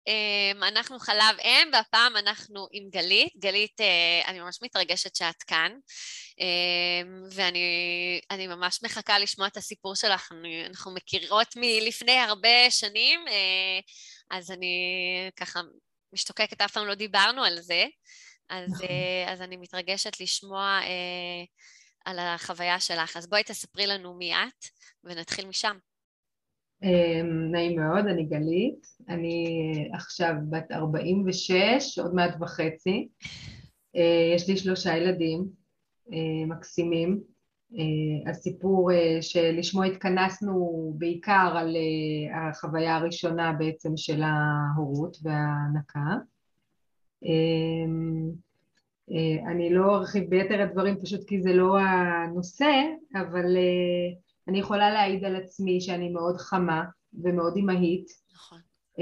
אנחנו חלב אם, והפעם אנחנו עם גלית. גלית, אני ממש מתרגשת שאת כאן, ואני ממש מחכה לשמוע את הסיפור שלך. אנחנו מכירות מלפני הרבה שנים, אז אני ככה משתוקקת, אף פעם לא דיברנו על זה, אז אני מתרגשת לשמוע על החוויה שלך. אז בואי תספרי לנו מי את, ונתחיל משם. נעים מאוד, אני גלית, אני עכשיו בת 46, עוד מעט וחצי, יש לי 3 ילדים מקסימים. הסיפור שלשמו התכנסנו בעיקר על החוויה הראשונה בעצם של ההורות וההנקה. אני לא ארחיב ביתר הדברים פשוט כי זה לא הנושא, אבל אני יכולה להעיד על עצמי שאני מאוד חמה ומאוד אימהית. נכון.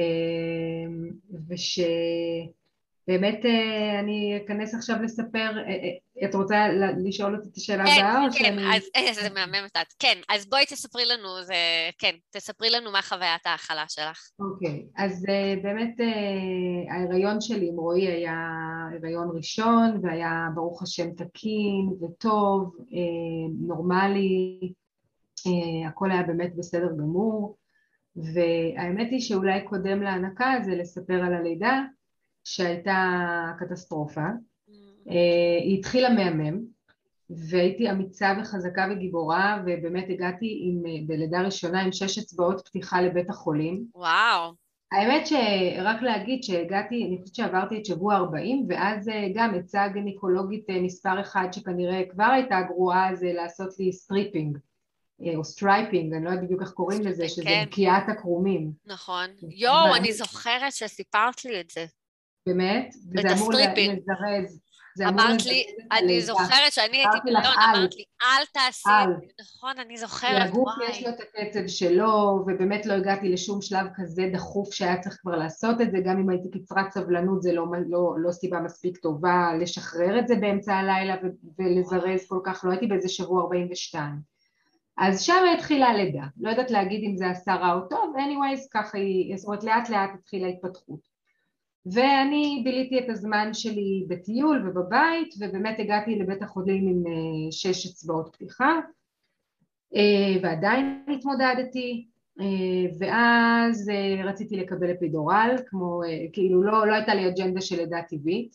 ושבאמת אני אכנס עכשיו לספר, את רוצה לשאול אותי את השאלה הבאה? כן, אז זה מהממת את. כן, אז בואי תספרי לנו, כן, תספרי לנו מה חוויית ההאכלה שלך. אוקיי, אז באמת ההיריון שלי עם רועי היה הריון ראשון, והיה ברוך השם תקין וטוב, נורמלי, הכל היה באמת בסדר גמור. והאמת היא שאולי קודם להנקה זה לספר על הלידה שהייתה קטסטרופה. היא התחילה מהמם, והייתי אמיצה וחזקה וגיבורה, ובאמת הגעתי בלידה ראשונה עם 6 אצבעות פתיחה לבית החולים. וואו. האמת שרק להגיד שהגעתי, אני חושבת שעברתי את שבוע 40, ואז גם עצה גניקולוגית מספר 1 שכנראה כבר הייתה גרועה, זה לעשות לי סטריפינג. או סטרייפינג, אני לא יודעת בדיוק איך קוראים לזה, שזה בקיעת הקרומים. נכון. יואו, אני זוכרת שסיפרת לי את זה. באמת? וזה אמור לזרז. אמרת לי, אני זוכרת שאני הייתי בלון, אמרת לי, אל תעשי את זה. נכון, אני זוכרת. לגוף יש לו את הקצב שלו, ובאמת לא הגעתי לשום שלב כזה דחוף שהיה צריך כבר לעשות את זה, גם אם הייתי קצרת סבלנות, זה לא סיבה מספיק טובה לשחרר את זה באמצע הלילה ולזרז כל כך, לא הייתי באיזה שבוע 42. אז שם התחילה הלידה, לא יודעת להגיד אם זה עשה רע או טוב, anyways ככה היא, זאת אומרת לאט לאט התחילה התפתחות. ואני ביליתי את הזמן שלי בטיול ובבית, ובאמת הגעתי לבית החולים עם 6 אצבעות פתיחה, ועדיין התמודדתי, ואז רציתי לקבל אפידורל, כמו, כאילו לא הייתה לי אג'נדה של לידה טבעית,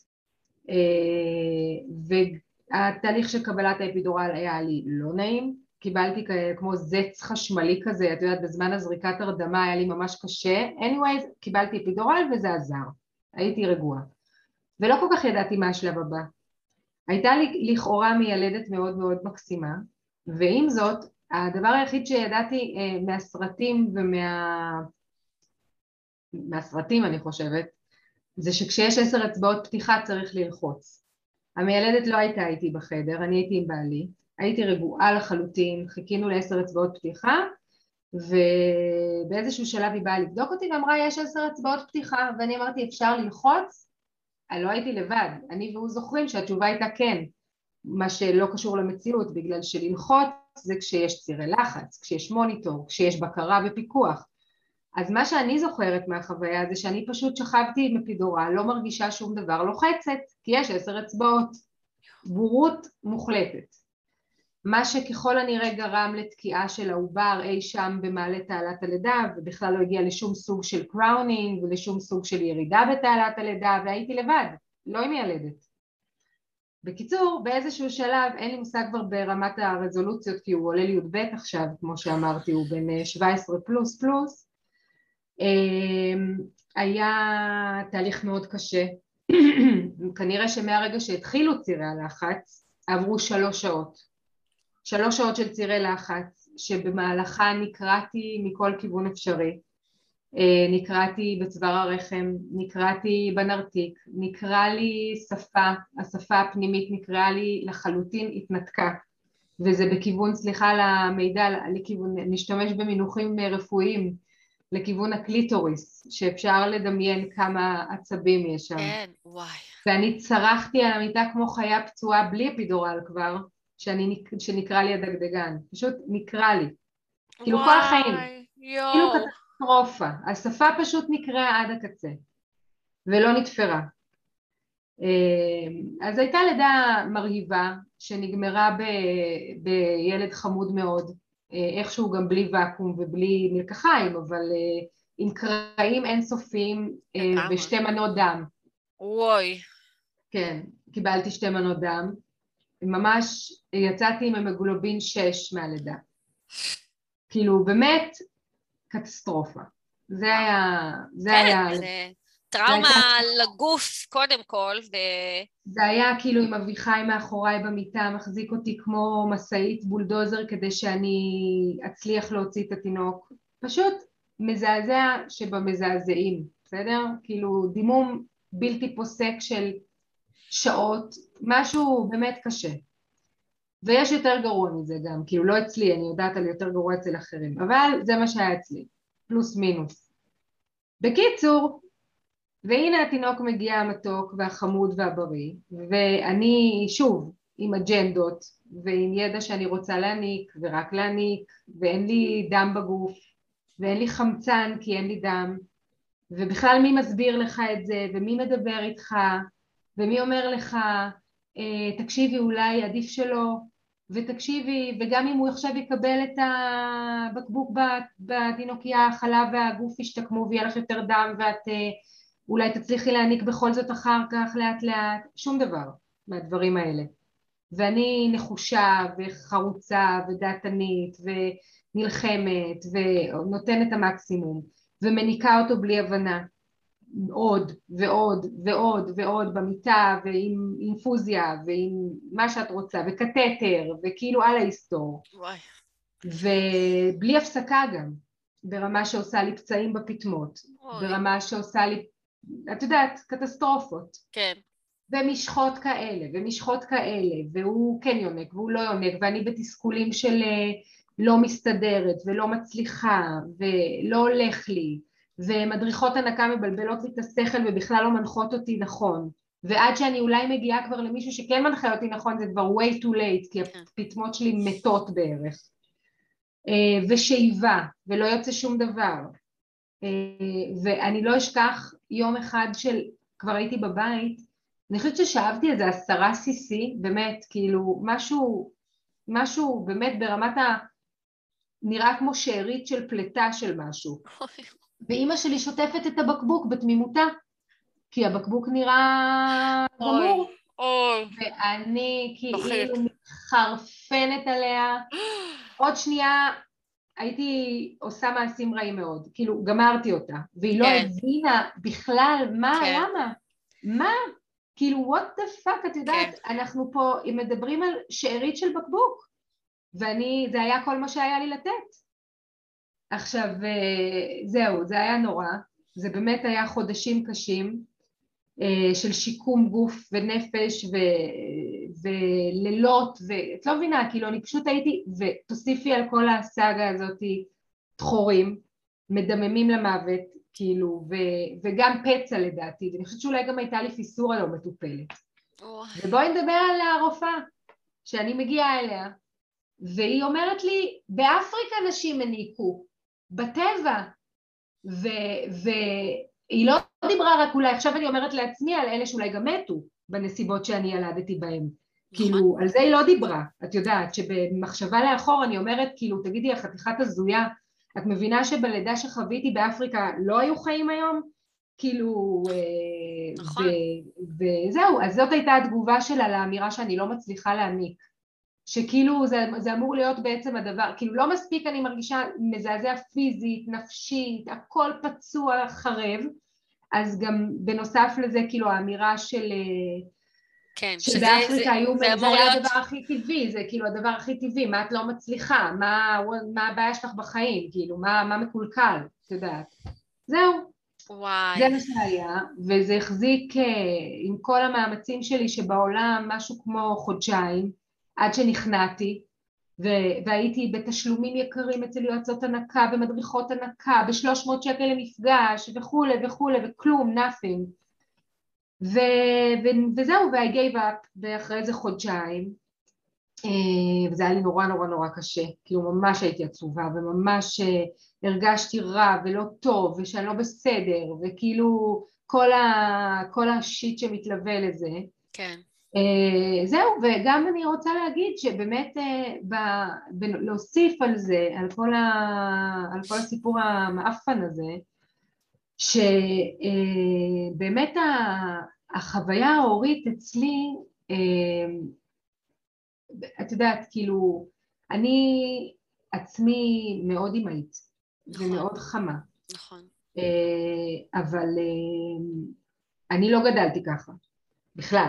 והתהליך של קבלת האפידורל היה לי לא נעים, קיבלתי כמו זץ חשמלי כזה, את יודעת, בזמן הזריקת הרדמה היה לי ממש קשה, anyways, קיבלתי אפידורל וזה עזר, הייתי רגועה, ולא כל כך ידעתי מה השלב הבא. הייתה לי לכאורה מיילדת מאוד מאוד מקסימה, ועם זאת, הדבר היחיד שידעתי מהסרטים מהסרטים אני חושבת, זה שכשיש 10 אצבעות פתיחה צריך ללחוץ. המיילדת לא הייתה איתי בחדר, אני הייתי עם בעלי, הייתי רגועה לחלוטין, חיכינו ל10 אצבעות פתיחה, ובאיזשהו שלב היא באה לבדוק אותי ואמרה יש 10 אצבעות פתיחה, ואני אמרתי אפשר ללחוץ? לא הייתי לבד, אני והוא זוכרים שהתשובה הייתה כן, מה שלא קשור למציאות, בגלל שללחוץ זה כשיש צירי לחץ, כשיש מוניטור, כשיש בקרה ופיקוח. אז מה שאני זוכרת מהחוויה זה שאני פשוט שכבתי עם אפידורל, לא מרגישה שום דבר, לוחצת, כי יש 10 אצבעות, בורות מוחלטת. מה שככל הנראה גרם לתקיעה של העובר אי שם במעלה תעלת הלידה, ובכלל לא הגיע לשום סוג של קראונינג ולשום סוג של ירידה בתעלת הלידה, והייתי לבד, לא עם ילדת. בקיצור, באיזשהו שלב, אין לי מושג כבר ברמת הרזולוציות, כי הוא עולה לי י"ב עכשיו, כמו שאמרתי, הוא בן 17 פלוס פלוס, היה תהליך מאוד קשה, כנראה שמהרגע שהתחילו צירי הלחץ, עברו 3 שעות. 3 שעות של צירי לחץ, שבמהלכה נקראתי מכל כיוון אפשרי, נקראתי בצוואר הרחם, נקראתי בנרתיק, נקרא לי שפה, השפה הפנימית נקראה לי לחלוטין התנתקה, וזה בכיוון, סליחה על המידע, לכיוון, נשתמש במינוחים רפואיים, לכיוון הקליטוריס, שאפשר לדמיין כמה עצבים יש שם. כן, וואי. ואני צרחתי על המיטה כמו חיה פצועה בלי אפידורל כבר, שנקרא לי הדגדגן, פשוט נקרא לי, כאילו כל החיים, כאילו קטסטרופה, השפה פשוט נקראה עד הקצה, ולא נתפרה. אז הייתה לידה מרהיבה, שנגמרה בילד חמוד מאוד, איכשהו גם בלי ואקום ובלי מלקחיים, אבל עם קרעים אינסופיים ושתי מנות דם. וואי. כן, קיבלתי 2 מנות דם, ממש יצאתי עם המגלובין 6 מהלידה. כאילו באמת קטסטרופה. זה היה, כן, זה טראומה לגוף קודם כל, זה היה כאילו עם אביחי מאחוריי במיטה, מחזיק אותי כמו מסעית בולדוזר כדי שאני אצליח להוציא את התינוק. פשוט מזעזע שבמזעזעים, בסדר? כאילו דימום בלתי פוסק של שעות, משהו באמת קשה. ויש יותר גרוע מזה גם, כאילו לא אצלי, אני יודעת על יותר גרוע אצל אחרים, אבל זה מה שהיה אצלי, פלוס מינוס. בקיצור, והנה התינוק מגיע המתוק והחמוד והבריא, ואני שוב עם אג'נדות ועם ידע שאני רוצה להניק ורק להניק, ואין לי דם בגוף, ואין לי חמצן כי אין לי דם, ובכלל מי מסביר לך את זה, ומי מדבר איתך, ומי אומר לך, תקשיבי אולי עדיף שלא, ותקשיבי, וגם אם הוא עכשיו יקבל את הבקבוק בתינוקיה, החלב והגוף ישתקמו ויהיה לך יותר דם, ואת אולי תצליחי להעניק בכל זאת אחר כך לאט לאט, שום דבר מהדברים האלה. ואני נחושה וחרוצה ודעתנית ונלחמת ונותנת את המקסימום ומניקה אותו בלי הבנה. עוד ועוד ועוד ועוד במיטה ועם אינפוזיה ועם מה שאת רוצה וקטטר וכאילו על ההיסטור. וואי. ובלי הפסקה גם, ברמה שעושה לי פצעים בפטמות, ברמה שעושה לי, את יודעת, קטסטרופות. כן. ומשחות כאלה ומשחות כאלה, והוא כן יונק והוא לא יונק, ואני בתסכולים של לא מסתדרת ולא מצליחה ולא הולך לי, ומדריכות הנקה מבלבלות לי את השכל ובכלל לא מנחות אותי נכון, ועד שאני אולי מגיעה כבר למישהו שכן מנחה אותי נכון, זה כבר way too late, כי הפטמות שלי מתות בערך, ושאיבה, ולא יוצא שום דבר, ואני לא אשכח יום אחד של, כבר הייתי בבית, אני חושבת ששאבתי איזה 10 cc, באמת, כאילו, משהו באמת ברמת נראה כמו שארית של פלטה של משהו. ואימא שלי שוטפת את הבקבוק בתמימותה, כי הבקבוק נראה גמור. ואני כאילו מתחרפנת עליה. עוד שנייה הייתי עושה מעשים רעים מאוד, כאילו גמרתי אותה, והיא לא הבינה בכלל למה, מה? כאילו what the fuck, את יודעת, אנחנו פה מדברים על שארית של בקבוק, זה היה כל מה שהיה לי לתת. עכשיו זהו, זה היה נורא, זה באמת היה חודשים קשים של שיקום גוף ונפש ולילות, ואת לא מבינה, כאילו אני פשוט הייתי, ותוסיפי על כל הסאגה הזאת תחורים, מדממים למוות, כאילו, וגם פצע לדעתי, ואני חושבת שאולי גם הייתה לי פיסורה לא מטופלת. ובואי נדבר על הרופאה, שאני מגיעה אליה, והיא אומרת לי, באפריקה נשים הניקו, בטבע, והיא לא דיברה רק אולי, עכשיו אני אומרת לעצמי על אלה שאולי גם מתו, בנסיבות שאני ילדתי בהם. כאילו, על זה היא לא דיברה, את יודעת, שבמחשבה לאחור אני אומרת, כאילו, תגידי, החתיכת הזויה, את מבינה שבלידה שחוויתי באפריקה לא היו חיים היום? כאילו, נכון. וזהו, אז זאת הייתה התגובה שלה לאמירה שאני לא מצליחה להעניק. שכאילו זה אמור להיות בעצם הדבר, כאילו לא מספיק אני מרגישה מזעזע פיזית, נפשית, הכל פצוע חרב, אז גם בנוסף לזה כאילו האמירה של כן, שבאפריקה זה היה הדבר הכי טבעי, זה כאילו הדבר הכי טבעי, מה את לא מצליחה, מה הבעיה שלך בחיים, כאילו מה מקולקל, את יודעת. זהו, וואי. זה מה שהיה, וזה החזיק עם כל המאמצים שלי שבעולם משהו כמו חודשיים, עד שנכנעתי, והייתי בתשלומים יקרים אצל יועצות הנקה ומדריכות הנקה, ב300 שקל למפגש וכולי וכולי, וכלום, nothing. וזהו, I gave up ואחרי איזה חודשיים, וזה היה לי נורא נורא נורא קשה, כאילו ממש הייתי עצובה וממש הרגשתי רע ולא טוב ושאני לא בסדר, וכאילו כל השיט שמתלווה לזה. כן. זהו, וגם אני רוצה להגיד שבאמת להוסיף על זה, על כל הסיפור המאפן הזה, שבאמת החוויה ההורית אצלי, את יודעת, כאילו, אני עצמי מאוד אמהית, נכון. ומאוד חמה. נכון. אבל אני לא גדלתי ככה, בכלל.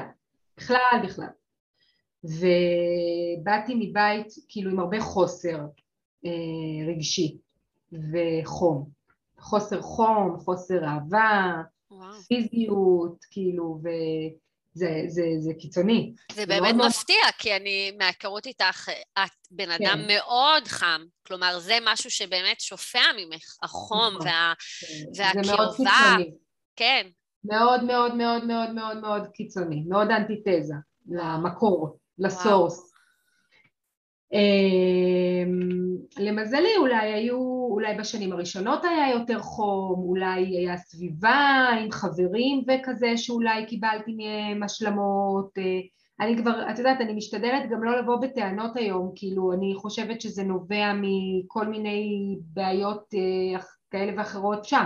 ובאתי מבית כאילו עם הרבה חוסר רגשי וחום. חוסר חוסר אהבה, וואו. פיזיות, כאילו, זה קיצוני. זה באמת מפתיע, כי אני, מהכרות איתך, את בן אדם מאוד חם. כלומר, זה משהו שבאמת שופע ממך, החום והקרבה. זה מאוד קיצוני. כן. מאוד מאוד מאוד מאוד מאוד מאוד קיצוני, מאוד אנטיתזה למקור, לסורס. למזלי אולי בשנים הראשונות היה יותר חום, אולי היה סביבה עם חברים וכזה שאולי קיבלתי מהם השלמות. אני כבר, את יודעת, אני משתדלת גם לא לבוא בטענות היום, כאילו אני חושבת שזה נובע מכל מיני בעיות כאלה ואחרות שם.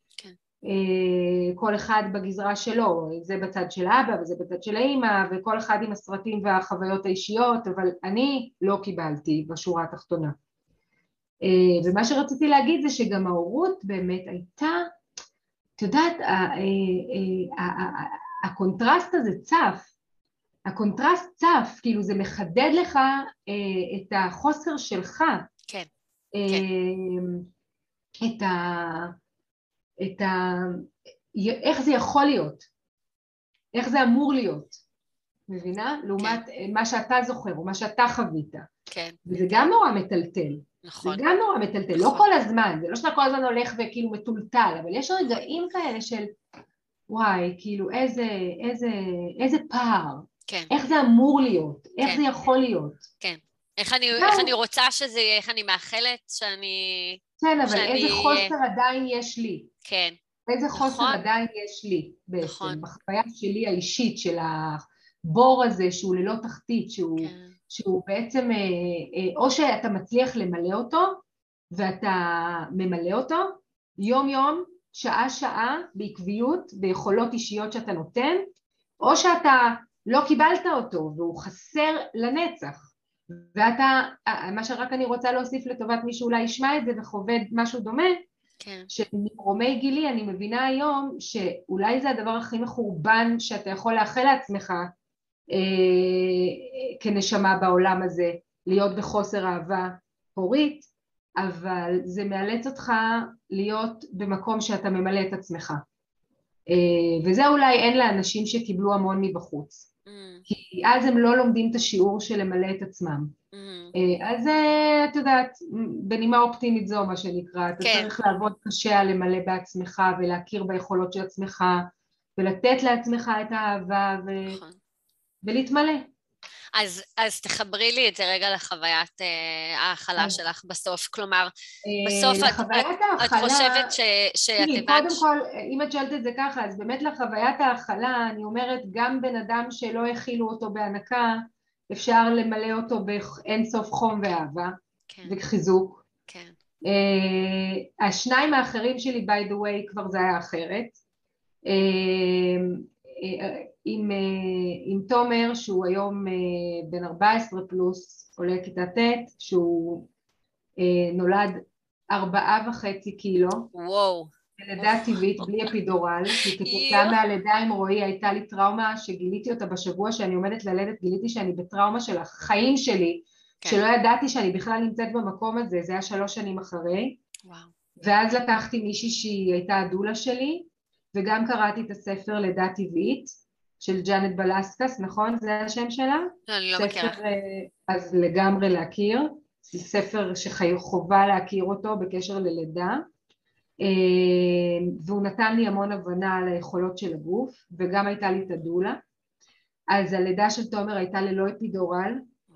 כל אחד בגזרה שלו, זה בצד של האבא וזה בצד של האמא, וכל אחד עם הסרטים והחוויות האישיות, אבל אני לא קיבלתי בשורה התחתונה. ומה שרציתי להגיד זה שגם ההורות באמת הייתה, את יודעת, הקונטרסט הזה הקונטרסט צף, כאילו זה מחדד לך את החוסר שלך. כן. איך זה יכול להיות, איך זה אמור להיות, מבינה? לעומת מה שאתה זוכר או מה שאתה חווית. כן. וזה גם נורא מטלטל. נכון. זה גם נורא מטלטל, לא כל הזמן, זה לא שאתה כל הזמן הולך וכאילו מטולטל, אבל יש רגעים כאלה של וואי, כאילו איזה פער, איך זה אמור להיות, איך זה יכול להיות. כן. איך אני רוצה שזה יהיה, איך אני מאחלת שאני... כן, אבל איזה חוסר עדיין יש לי. כן. איזה חוסר עדיין יש לי בעצם, בחוויה שלי האישית של הבור הזה שהוא ללא תחתית, שהוא בעצם, או שאתה מצליח למלא אותו, ואתה ממלא אותו, יום יום, שעה שעה, בעקביות, ביכולות אישיות שאתה נותן, או שאתה לא קיבלת אותו, והוא חסר לנצח. ואתה, מה שרק אני רוצה להוסיף לטובת מי שאולי ישמע את זה וחובד משהו דומה, שממרומי גילי אני מבינה היום שאולי זה הדבר הכי מחורבן שאתה יכול לאחל לעצמך כנשמה בעולם הזה, להיות בחוסר אהבה הורית, אבל זה מאלץ אותך להיות במקום שאתה ממלא את עצמך. וזה אולי אין לאנשים שקיבלו המון מבחוץ. כי אז הם לא לומדים את השיעור של למלא את עצמם. אז את יודעת, בנימה אופטימית זו מה שנקרא, אתה צריך לעבוד קשה על למלא בעצמך ולהכיר ביכולות של עצמך ולתת לעצמך את האהבה ולהתמלא. אז תחברי לי את זה רגע לחוויית ההכלה שלך בסוף, כלומר, בסוף את חושבת שאת הבנת... קודם כל, אם את שואלת את זה ככה, אז באמת לחוויית ההכלה, אני אומרת, גם בן אדם שלא הכילו אותו בהנקה, אפשר למלא אותו באין סוף חום ואהבה, וחיזוק. השניים האחרים שלי, by the way, כבר זה היה אחרת. עם תומר, שהוא היום בן 14 פלוס, עולה כיתה ט', שהוא נולד 4.5 קילו. וואו. לידה טבעית, בלי אפידורל, כי כתוצאה מהלידה עם רועי הייתה לי טראומה שגיליתי אותה בשבוע שאני עומדת ללדת, גיליתי שאני בטראומה של החיים שלי, שלא ידעתי שאני בכלל נמצאת במקום הזה, זה היה 3 שנים אחרי. ואז לקחתי מישהי שהיא הייתה הדולה שלי, וגם קראתי את הספר לידה טבעית, של ג'אנט בלסקס, נכון? זה השם שלה? אני לא מכירה. אז לגמרי להכיר, זה ספר שחובה להכיר אותו בקשר ללידה, והוא נתן לי המון הבנה על היכולות של הגוף, וגם הייתה לי את הדולה. אז הלידה של תומר הייתה ללא אפידורל,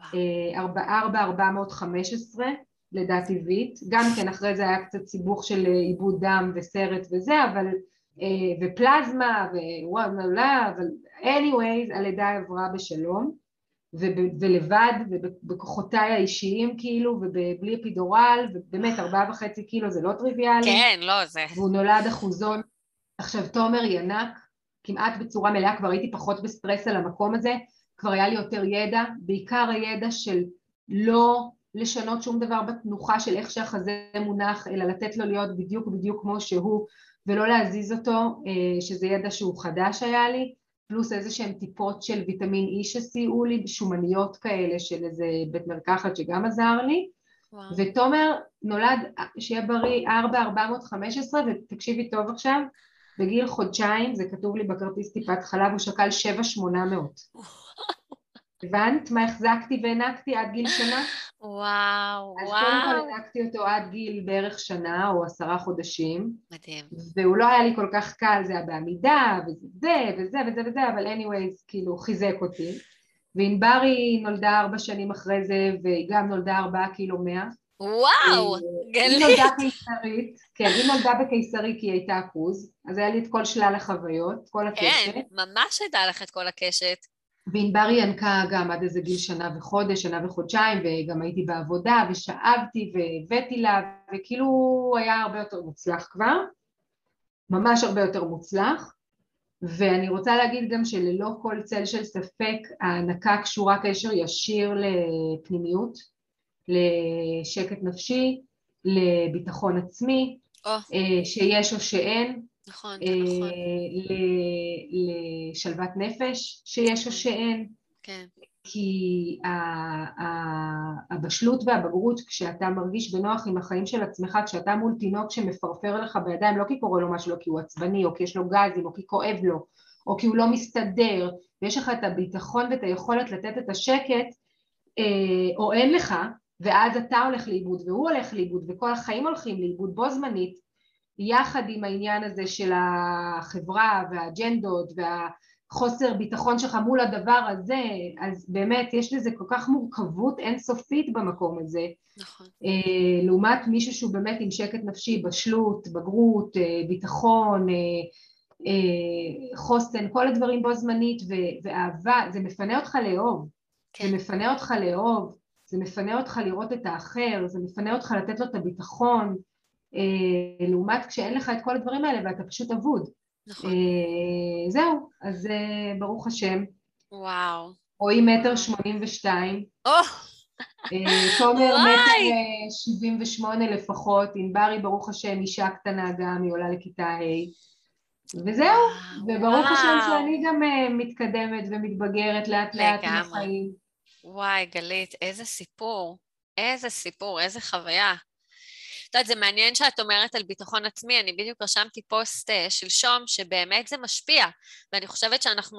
4,415 לידה טבעית, גם כן אחרי זה היה קצת סיבוך של איבוד דם וסרט וזה, אבל ופלזמה, ווואו, אבל anyways, הלידה עברה בשלום, ולבד, ובכוחותיי האישיים כאילו, ובלי אפידורל, ובאמת 4.5 קילו זה לא טריוויאלי, כן, לא, זה... והוא נולד אחוזון. עכשיו תומר ינק, כמעט בצורה מלאה, כבר הייתי פחות בסטרס על המקום הזה, כבר היה לי יותר ידע, בעיקר הידע של לא לשנות שום דבר בתנוחה של איך שהחזה מונח, אלא לתת לו להיות בדיוק כמו שהוא, ולא להזיז אותו, שזה ידע שהוא חדש היה לי, פלוס איזה שהם טיפות של ויטמין E שסייעו לי, שומניות כאלה של איזה בית מרקחת שגם עזר לי, וואו. ותומר נולד, שיהיה בריא, 4,415, ותקשיבי טוב עכשיו, בגיל חודשיים, זה כתוב לי בכרטיס טיפת חלב, הוא שקל 7,800. הבנת מה החזקתי והענקתי עד גיל שנה? וואו, אז קודם כל וואו. הענקתי אותו עד גיל בערך שנה או 10 חודשים, מדהים. והוא לא היה לי כל כך קל, זה היה בעמידה, וזה, אבל anyways, כאילו חיזק אותי. וענברי נולדה 4 שנים אחרי זה, והיא גם נולדה 4 קילו 100. וואו, היא נולדה גלית. קיסרית, כן, היא נולדה בקיסרי כי היא הייתה אחוז, אז היה לי את כל שלל החוויות, כל הקשת. כן, ממש הייתה לך את כל הקשת. וענברי ינקה גם עד איזה גיל שנה וחודש, שנה וחודשיים, וגם הייתי בעבודה, ושאבתי, והבאתי לה, וכאילו היה הרבה יותר מוצלח כבר, ממש הרבה יותר מוצלח, ואני רוצה להגיד גם שללא כל צל של ספק, ההנקה קשורה קשר ישיר לפנימיות, לשקט נפשי, לביטחון עצמי, או, שיש או שאין, נכון, זה נכון. לשלוות נפש, שיש או שאין, כן, כי הבשלות והבגרות, כשאתה מרגיש בנוח עם החיים של עצמך, כשאתה מול תינוק שמפרפר לך בידיים, לא כי קורה לו משהו, לא כי הוא עצבני, או כי יש לו גזים, או כי כואב לו, או כי הוא לא מסתדר, ויש לך את הביטחון ואת היכולת לתת את השקט, או אין לך, ואז אתה הולך לאיבוד, והוא הולך לאיבוד, וכל החיים הולכים לאיבוד בו זמנית, יחד עם העניין הזה של החברה והאג'נדות והחוסר ביטחון שלך מול הדבר הזה, אז באמת יש לזה כל כך מורכבות אינסופית במקום הזה, נכון. לעומת מישהו שהוא באמת עם שקט נפשי, בשלות, בגרות, ביטחון, חוסן, כל הדברים בו זמנית ואהבה, זה מפנה אותך לאהוב, כן, זה מפנה אותך לאהוב, זה מפנה אותך לראות את האחר, זה מפנה אותך לתת לו את הביטחון, לעומת כשאין לך את כל הדברים האלה ואתה פשוט אבוד. נכון. זהו, אז ברוך השם. וואו. רואי 1.82 או, מטר, תומר וואי. 1.78 מטר לפחות, ענברי ברוך השם אישה קטנה גם, היא עולה לכיתה ה' וזהו, וואו, וברוך השם וואו. שאני גם מתקדמת ומתבגרת לאט לאט עם לגמרי. החיים. וואי, גלית, איזה סיפור. איזה סיפור, איזה חוויה. את יודעת, זה מעניין שאת אומרת על ביטחון עצמי, אני בדיוק רשמתי פוסט שלשום שבאמת זה משפיע, ואני חושבת שאנחנו,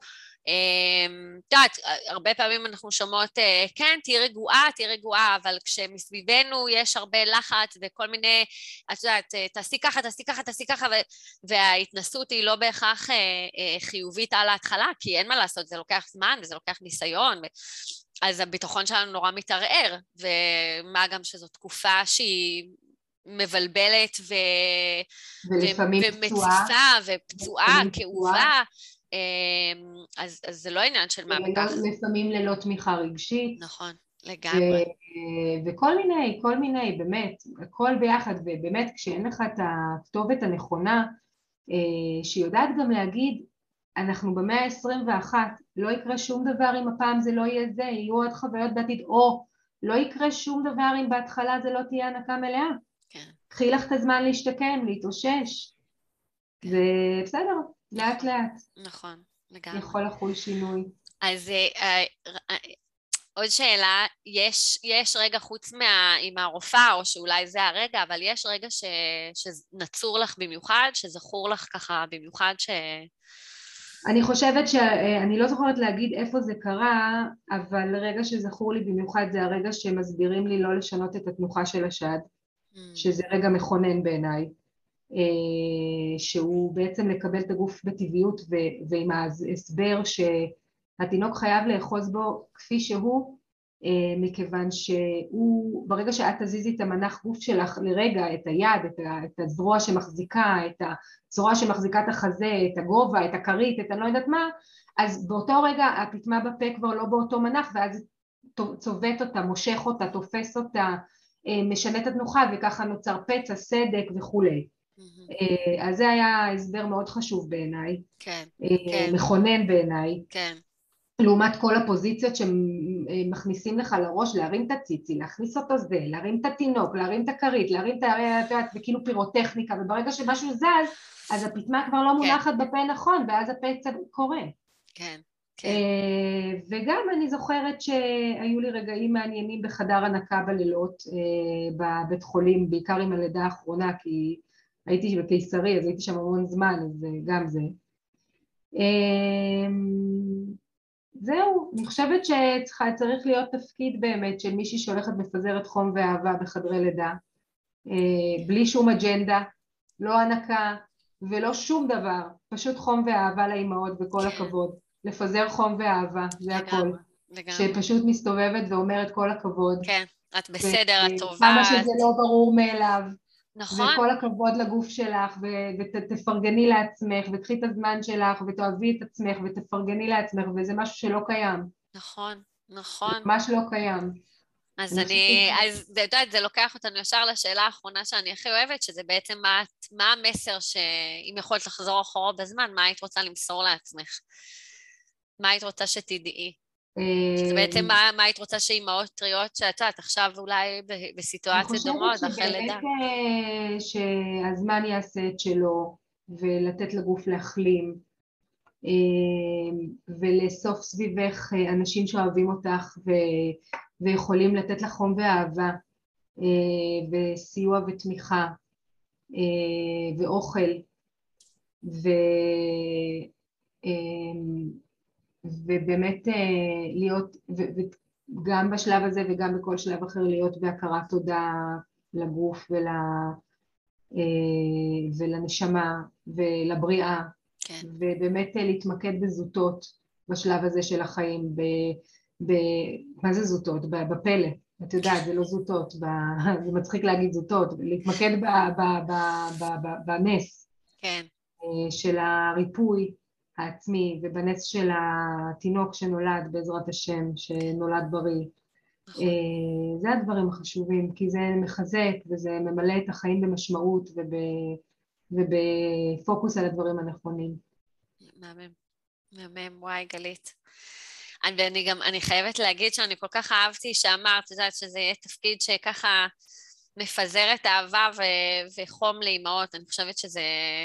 את יודעת, הרבה פעמים אנחנו שומעות, כן, תהיי רגועה, אבל כשמסביבנו יש הרבה לחץ וכל מיני, את יודעת, תעשי ככה, תעשי ככה, תעשי ככה, וההתנסות היא לא בהכרח חיובית על ההתחלה, כי אין מה לעשות, זה לוקח זמן וזה לוקח ניסיון, אז הביטחון שלנו נורא מתערער, ומה גם שזו תקופה שהיא מבלבלת ולפעמים פצועה, ומציפה ופצועה, ולפעמים פצועה, כאובה, אז זה לא עניין של מה בכך. ולפעמים ללא תמיכה רגשית. נכון, לגמרי. כל מיני, באמת, הכל ביחד, ובאמת כשאין לך את הכתובת הנכונה, שיודעת גם להגיד, אנחנו במאה ה-21, לא יקרה שום דבר אם הפעם זה לא יהיה זה, יהיו עוד חוויות בעתיד, או לא יקרה שום דבר אם בהתחלה זה לא תהיה הנקה מלאה. כן. קחי לך את הזמן להשתקם, להתאושש. זה בסדר, לאט לאט. נכון, לגמרי. יכול לחול שינוי. אז עוד שאלה, יש רגע חוץ עם הרופאה, או שאולי זה הרגע, אבל יש רגע שנצור לך במיוחד, שזכור לך ככה במיוחד אני חושבת שאני לא זוכרת להגיד איפה זה קרה, אבל רגע שזכור לי במיוחד זה הרגע שמסבירים לי לא לשנות את התנוחה של השד, שזה רגע מכונן בעיניי, שהוא בעצם לקבל את הגוף בטבעיות ועם ההסבר שהתינוק חייב לאחוז בו כפי שהוא, מכיוון שהוא, ברגע שאת תזיזי את המנח גוף שלך לרגע, את היד, את הזרוע שמחזיקה, את הזרוע שמחזיקה את החזה, את הגובה, את הכרית, את אני לא יודעת מה, אז באותו רגע הפטמה בפה כבר לא באותו מנח, ואז צובט אותה, מושך אותה, תופס אותה, משנה את התנוחה, וככה נוצר פצע, סדק וכולי. אז זה היה הסבר מאוד חשוב בעיניי, כן, מכונן בעיניי. כן. לעומת כל הפוזיציות שמכניסים לך לראש, להרים את הציצי, להכניס אותו זה, להרים את התינוק, להרים את הכרית, להרים את זה כאילו פירוטכניקה, וברגע שמשהו זז, אז הפטמה כבר לא מונחת בפה נכון, ואז הפצע קורה. כן, כן. וגם אני זוכרת שהיו לי רגעים מעניינים בחדר הנקה בלילות, בבית חולים, בעיקר עם הלידה האחרונה, כי הייתי בקיסרי, אז הייתי שם המון זמן, אז גם זה. זהו, אני חושבת שצריך להיות תפקיד באמת של מישהי שהולכת מפזרת חום ואהבה בחדרי לידה, בלי שום אג'נדה, לא הנקה ולא שום דבר, פשוט חום ואהבה לאימהות וכל הכבוד, לפזר חום ואהבה, זה הכל, שפשוט מסתובבת ואומרת כל הכבוד. כן, את בסדר, את טובה. כמה שזה לא ברור מאליו. נכון. וכל הכבוד לגוף שלך, ותפרגני לעצמך, ותקחי את הזמן שלך, ותאהבי את עצמך, ותפרגני לעצמך, וזה משהו שלא קיים. נכון, נכון. ממש לא קיים. אז זה לוקח אותנו ישר לשאלה האחרונה שאני הכי אוהבת, שזה בעצם מה המסר שאם יכולת לחזור אחורה בזמן, מה היית רוצה למסור לעצמך? מה היית רוצה שתדעי? שזה בעצם מה היית רוצה שאימהות טריות שאת עכשיו אולי בסיטואציות דומות אחרי לידה. אני חושבת שבאמת שהזמן יעשה את שלו ולתת לגוף להחלים ולאסוף סביבך אנשים שאוהבים אותך ויכולים לתת לך חום ואהבה וסיוע ותמיכה ואוכל ובאמת להיות, וגם בשלב הזה וגם בכל שלב אחר להיות בהכרת תודה לגוף ולנשמה ולבריאה, כן. ובאמת להתמקד בזוטות בשלב הזה של החיים, מה זה זוטות? בפלא, את יודעת, זה לא זוטות, זה מצחיק להגיד זוטות, להתמקד בנס, כן. של הריפוי העצמי, ובנס של התינוק שנולד בעזרת השם, שנולד בריא. זה הדברים החשובים, כי זה מחזק וזה ממלא את החיים במשמעות ובפוקוס על הדברים הנכונים. מהמם, וואי גלית. אני חייבת להגיד שאני כל כך אהבתי שאמרת, יודעת שזה יהיה תפקיד שככה מפזר את האהבה וחום לאימהות, אני חושבת שזה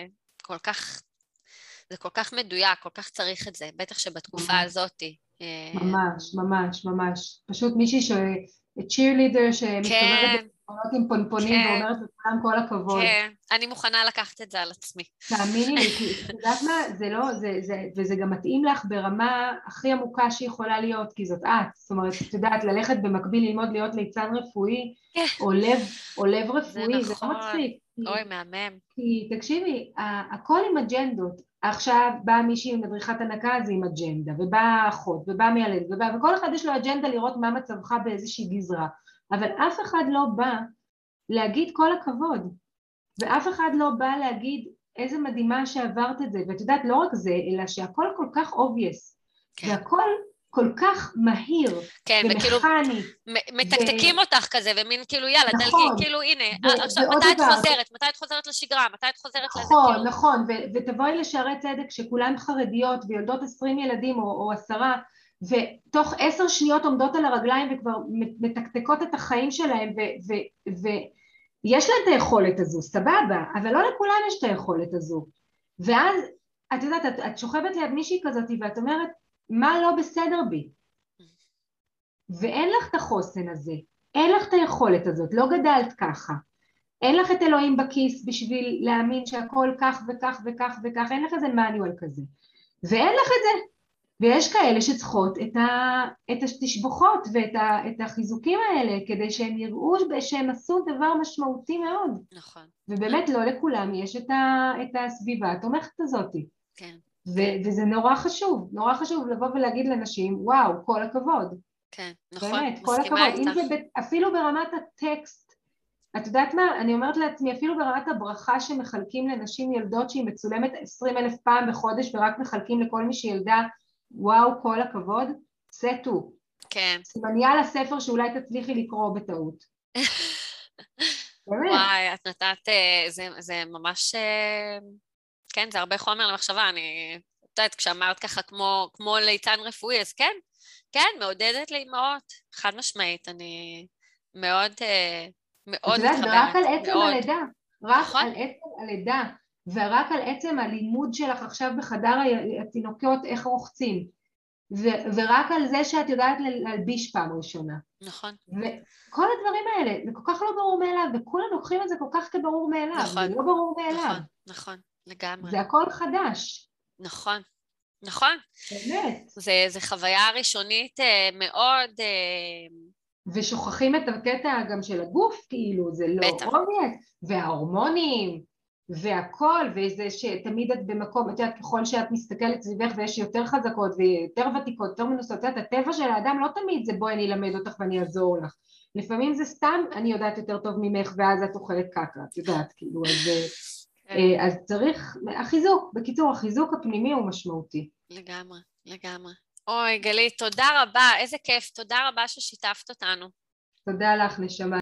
כל כך מדויק, כל כך צריך את זה, בטח שבתקופה הזאת. ממש, ממש, ממש. פשוט מישהי cheerleader שמסתובבת עם פונפונים ואומרת לכולם כל הכבוד. כן, אני מוכנה לקחת את זה על עצמי. תאמיני לי, כי את יודעת מה, זה לא, וזה גם מתאים לך ברמה הכי עמוקה שיכולה להיות, כי זאת את. זאת אומרת, את יודעת, ללכת במקביל ללמוד להיות ליצן רפואי, או לב רפואי, זה לא מצחיק. אוי, מהמם. כי תקשיבי, הכל עם אג'נדות. עכשיו באה מישהי מדריכת הנקה, אז עם אג'נדה, ובאה אחות, ובאה מיילדת, וכל אחד יש לו אג'נדה לראות מה מצבך באיזושהי גזרה. אבל אף אחד לא בא להגיד כל הכבוד, ואף אחד לא בא להגיד איזה מדהימה שעברת את זה, ואת יודעת, לא רק זה, אלא שהכל כל כך obvious, והכל כל כך מהיר, ומכני. מתקתקים אותך כזה, ומין כאילו יאללה, דלגי, כאילו הנה, עכשיו מתי את חוזרת לשגרה, מתי את חוזרת לזה? נכון, ותבואי לשערי צדק שכולן חרדיות, ויולדות 20 ילדים או 10, ותוך 10 שניות עומדות על הרגליים וכבר מתקתקות את החיים שלהם, ויש להם את היכולת הזו, סבבה, אבל לא לכולם יש את היכולת הזו. ואז, את יודעת, את שוכבת ליד מישהי כזאת, ואת אומרת, מה לא בסדר בי? ואין לך את החוסן הזה, אין לך את היכולת הזאת, לא גדלת ככה. אין לך את אלוהים בכיס בשביל להאמין שהכל כך וכך וכך וכך, אין לך איזה מניואל כזה. ואין לך את זה. ויש כאלה שצריכות את התשבחות ואת החיזוקים האלה, כדי שהם יראו שהם עשו דבר משמעותי מאוד. נכון. ובאמת לא לכולם יש את הסביבה התומכת הזאת. כן. וזה נורא חשוב לבוא ולהגיד לנשים, וואו, כל הכבוד. כן, נכון, באמת, כל מסכימה הכבוד. אם איתך. זה אפילו ברמת הטקסט, את יודעת מה? אני אומרת לעצמי, אפילו ברמת הברכה שמחלקים לנשים ילדות שהיא מצולמת 20,000 פעם בחודש ורק מחלקים לכל מי שילדה, וואו, כל הכבוד, סטו. כן. סימניה לספר שאולי תצליחי לקרוא בטעות. באמת. וואי, את נתת, זה ממש, כן, זה הרבה חומר למחשבה, אני, את יודעת, כשאמרת ככה כמו ליצן רפואי, אז כן, כן, מעודדת לאמהות, חד משמעית, אני מאוד, את מאוד יודעת, ורק על מתחברת, עצם מאוד, הלידה, רק נכון? על עצם הלידה, ורק על עצם הלימוד שלך עכשיו בחדר התינוקות, איך רוחצים, ורק על זה שאת יודעת להלביש פעם ראשונה. נכון, וכל הדברים האלה, זה כל כך לא ברור מאליו, וכולם לוקחים את זה כל כך כברור מאליו, זה נכון, לא ברור מאליו, נכון, נכון, לגמרי, זה הכל חדש, נכון, נכון. באמת. זה חוויה ראשונית מאוד, ושוכחים את הקטע גם של הגוף, כאילו, זה לא בטח, אובייס, וההורמונים, והכל, וזה שתמיד את במקום, את יודעת, ככל שאת מסתכלת סביבך ויש יותר חזקות ויותר ותיקות, יותר מנוסות, את יודעת, הטבע של האדם לא תמיד זה בואי אני אלמד אותך ואני אעזור לך. לפעמים זה סתם, אני יודעת יותר טוב ממך ואז את אוכלת קקה, את יודעת, כאילו, כן, אז צריך, החיזוק, בקיצור, החיזוק הפנימי הוא משמעותי. לגמרי, לגמרי. אוי, גלית, תודה רבה, איזה כיף, תודה רבה ששיתפת אותנו. תודה לך, נשמה.